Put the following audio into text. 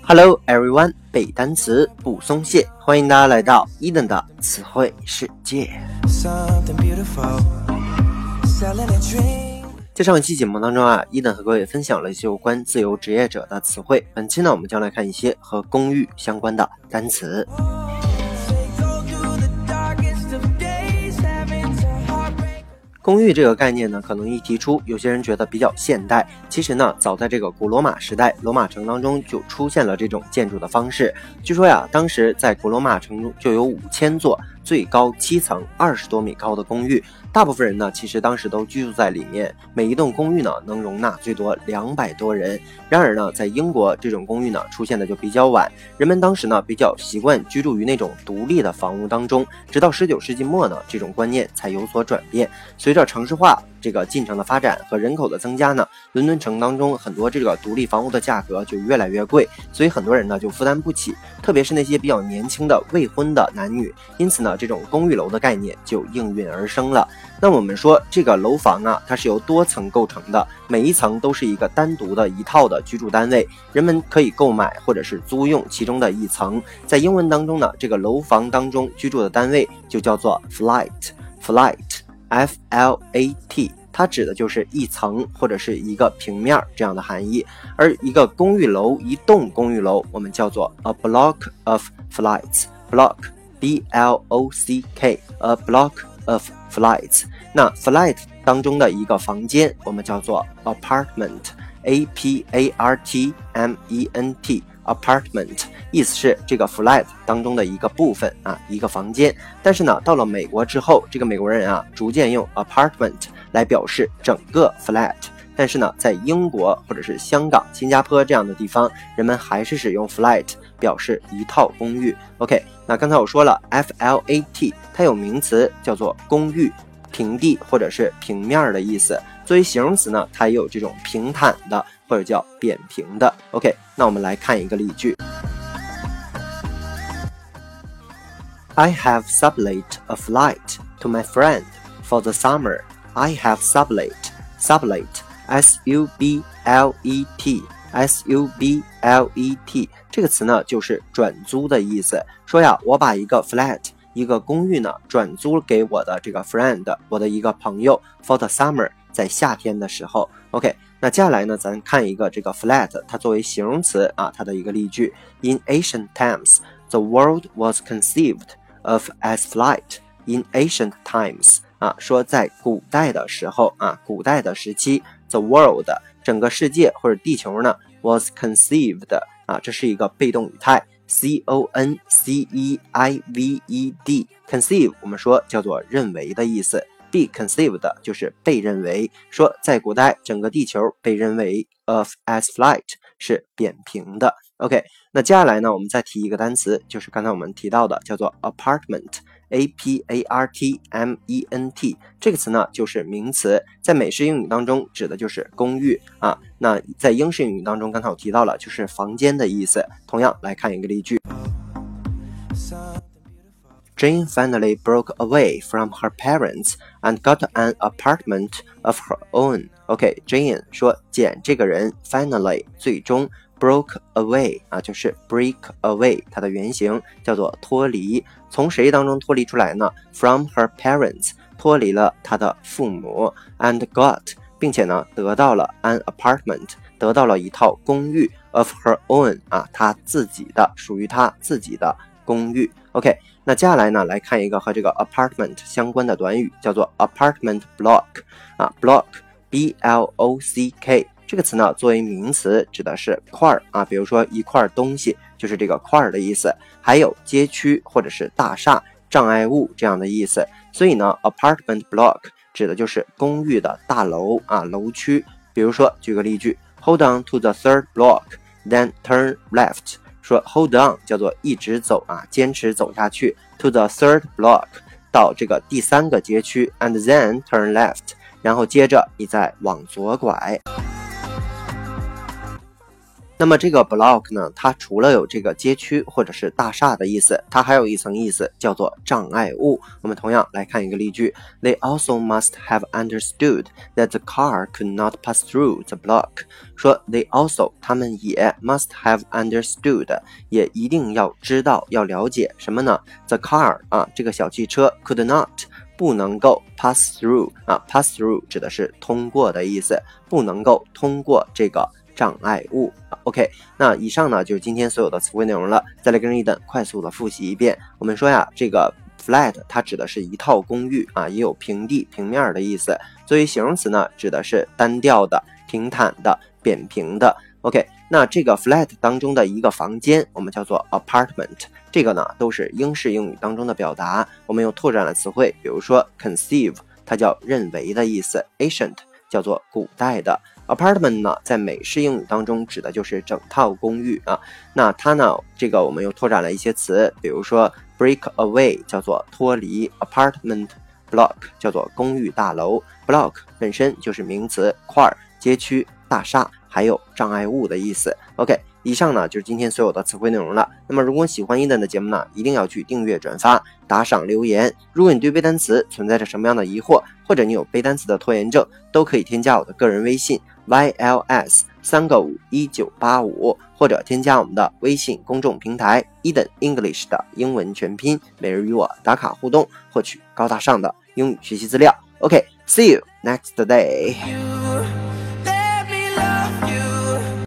Hello everyone， 背单词不松懈，欢迎大家来到Eden的词汇世界。在上一期节目当中Eden和各位分享了一些有关自由职业者的词汇。本期呢，我们将来看一些和公寓相关的单词。公寓这个概念呢，可能一提出，有些人觉得比较现代。其实呢，早在这个古罗马时代，罗马城当中就出现了这种建筑的方式。据说当时在古罗马城中就有5000座，最高7层、20多米高的公寓。大部分人呢，其实当时都居住在里面。每一栋公寓呢，能容纳最多200多人。然而呢，在英国这种公寓呢，出现的就比较晚。人们当时呢，比较习惯居住于那种独立的房屋当中。直到19世纪末呢，这种观念才有所转变。随着城市化这个进程的发展和人口的增加呢，伦敦城当中很多这个独立房屋的价格就越来越贵，所以很多人呢就负担不起，特别是那些比较年轻的未婚的男女。因此呢，这种公寓楼的概念就应运而生了。那我们说这个楼房它是由多层构成的，每一层都是一个单独的一套的居住单位，人们可以购买或者是租用其中的一层。在英文当中呢，这个楼房当中居住的单位就叫做 flat，F-L-A-T， 它指的就是一层或者是一个平面这样的含义。而一个公寓楼，一栋公寓楼，我们叫做 a block of flats， block B-L-O-C-K， a block of flats。 那 flat 当中的一个房间我们叫做 apartment， A-P-A-R-T-M-E-N-T， apartment 意思是这个 flat 当中的一个部分一个房间。但是呢，到了美国之后，这个美国人逐渐用 apartment 来表示整个 flat。但是呢，在英国或者是香港、新加坡这样的地方，人们还是使用 flat 表示一套公寓。 OK， 那刚才我说了 F-L-A-T 它有名词叫做公寓，平地或者是平面的意思。作为形容词呢，它也有这种平坦的或者叫扁平的。 OK， 那我们来看一个例句。 I have sublet a flight to my friend for the summer. I have sublet S-U-B-L-E-T S-U-B-L-E-T 这个词呢，就是转租的意思。说我把一个 flat 一个公寓呢转租给我的这个 friend， 我的一个朋友 for the summer， 在夏天的时候。 OK， 那接下来呢，咱看一个这个 flat 它作为形容词它的一个例句。 In ancient times, the world was conceived of as flight. In ancient times说在古代的时候古代的时期 the world 整个世界或者地球呢 was conceived 这是一个被动语态 C-O-N-C-E-I-V-E-D conceive 我们说叫做认为的意思， be conceived 就是被认为。说在古代整个地球被认为 of as flight 是扁平的。 OK， 那接下来呢，我们再提一个单词，就是刚才我们提到的叫做 apartment， A-P-A-R-T-M-E-N-T 这个词呢就是名词，在美式英语当中指的就是公寓那在英式英语当中刚才我提到了就是房间的意思。同样来看一个例句。 Jane finally broke away from her parents and got an apartment of her own. OK， Jane 说简这个人 finally 最终broke away 就是 break away， 它的原型叫做脱离。从谁当中脱离出来呢？ From her parents 脱离了她的父母 and got 并且呢得到了 an apartment 得到了一套公寓 of her own 她自己的属于她自己的公寓。 OK， 那接下来呢来看一个和这个 apartment 相关的短语，叫做 apartment block block B-L-O-C-K 这个词呢作为名词指的是块比如说一块东西就是这个块的意思，还有街区或者是大厦、障碍物这样的意思。所以呢 apartment block 指的就是公寓的大楼楼区。比如说举个例句， Hold on to the third block then turn left， 说 hold on 叫做一直走坚持走下去 to the third block 到这个第3个街区 and then turn left， 然后接着你再往左拐。 那么这个 block 呢，它除了有这个街区或者是大厦的意思，它还有一层意思叫做障碍物。我们同样来看一个例句 They also must have understood that the car could not pass through the block。 说 They also 他们也 must have understood 也一定要知道要了解什么呢？ The car 这个小汽车 could not不能够 pass through pass through 指的是通过的意思，不能够通过这个障碍物。 OK， 那以上呢就是今天所有的词汇内容了。再来跟Eden快速的复习一遍。我们说呀，这个 flat 它指的是一套公寓也有平地平面的意思。作为形容词呢，指的是单调的、平坦的、扁平的。 OK， 那这个 flat 当中的一个房间我们叫做 apartment， 这个呢都是英式英语当中的表达。我们又拓展了词汇，比如说 conceive 它叫认为的意思， ancient 叫做古代的。 apartment 呢在美式英语当中指的就是整套公寓那它呢这个我们又拓展了一些词，比如说 break away 叫做脱离， apartment block 叫做公寓大楼， block 本身就是名词，块、街区、大厦还有障碍物的意思。 OK， 以上呢就是今天所有的词汇内容了。那么如果喜欢Eden的节目呢，一定要去订阅、转发、打赏、留言。如果你对背单词存在着什么样的疑惑，或者你有背单词的拖延症，都可以添加我的个人微信 YLS3个51985，或者添加我们的微信公众平台 Eden English 的英文全拼，每日与我打卡互动，获取高大上的英语学习资料。OK，see you next day.